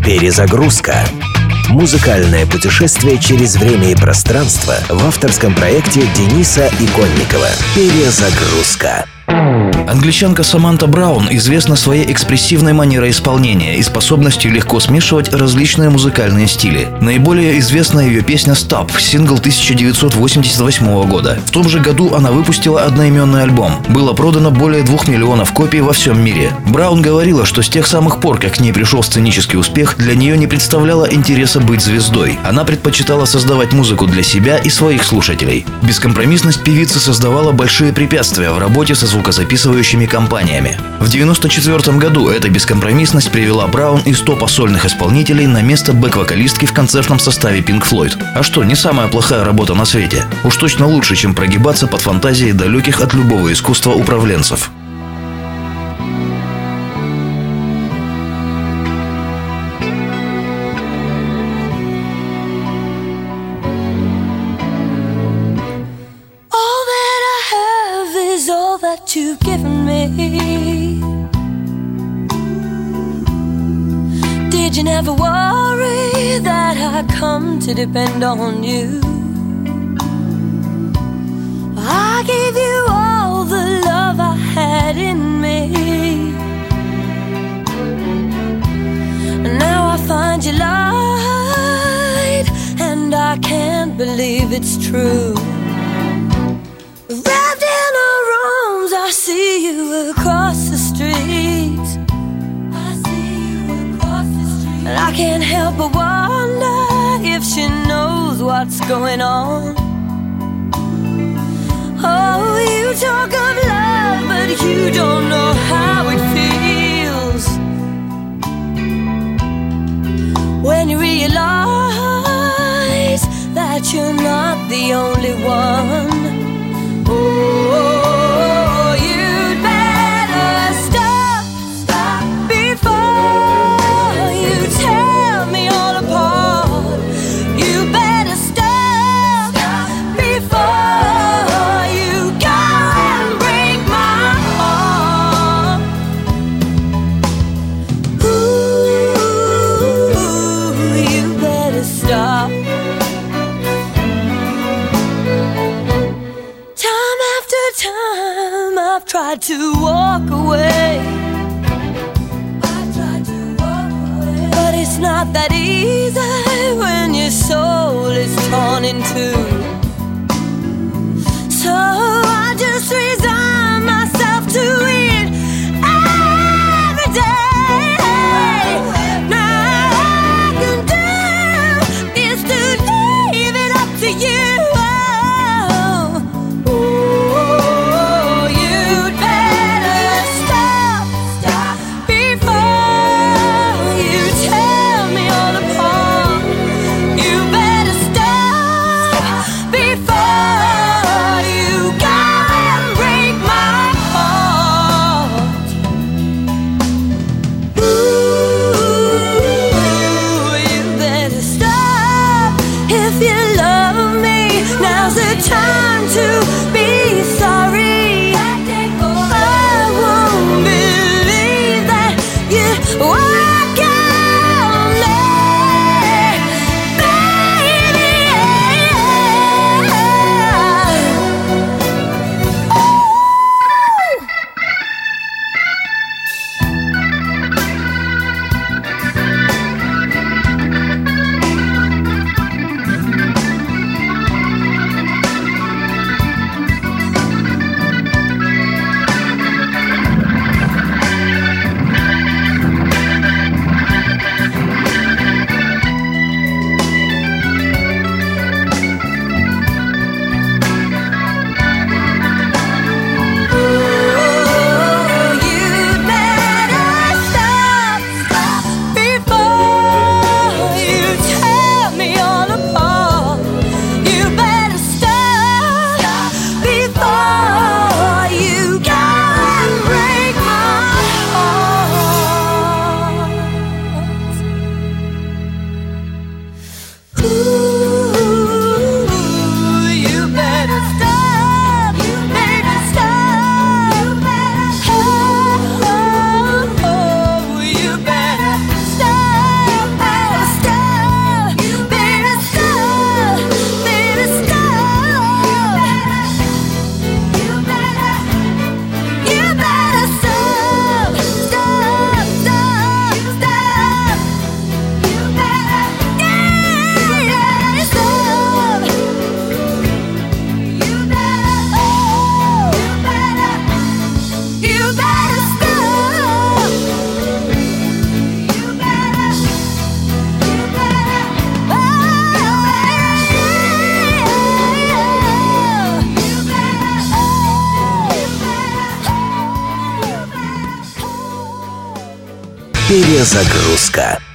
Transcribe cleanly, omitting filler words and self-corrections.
Перезагрузка. Музыкальное путешествие через время и пространство в авторском проекте Дениса Иконникова. Перезагрузка. Англичанка Саманта Браун известна своей экспрессивной манерой исполнения и способностью легко смешивать различные музыкальные стили. Наиболее известна ее песня «Stop», сингл 1988 года. В том же году она выпустила одноименный альбом. Было продано более 2 миллионов копий во всем мире. Браун говорила, что с тех самых пор, как к ней пришел сценический успех, для нее не представляло интереса быть звездой. Она предпочитала создавать музыку для себя и своих слушателей. Бескомпромиссность певицы создавала большие препятствия в работе со звукозаписывающими компаниями. В 1994 году эта бескомпромиссность привела Браун из топа сольных исполнителей на место бэк-вокалистки в концертном составе Pink Floyd. А что, не самая плохая работа на свете. Уж точно лучше, чем прогибаться под фантазии далеких от любого искусства управленцев. That you've given me. Did you never worry that I'd come to depend on you? I gave you all the love I had in me, and now I find you lied, and I can't believe it's true. Wrapped in our arms, I see you across the street. I see you across the street. And I can't help but wonder if she knows what's going on. Oh, you talk of love, but you don't know how it feels when you realize that you're not the only one. Oh, you'd better stop before you tear me all apart. You better stop before you go and break my heart. Ooh, you better stop. Time I've tried to walk away. But it's not that easy when your soul is torn in two. So I just resign myself to it every day. Now all I can do is to leave it up to you. Break Перезагрузка.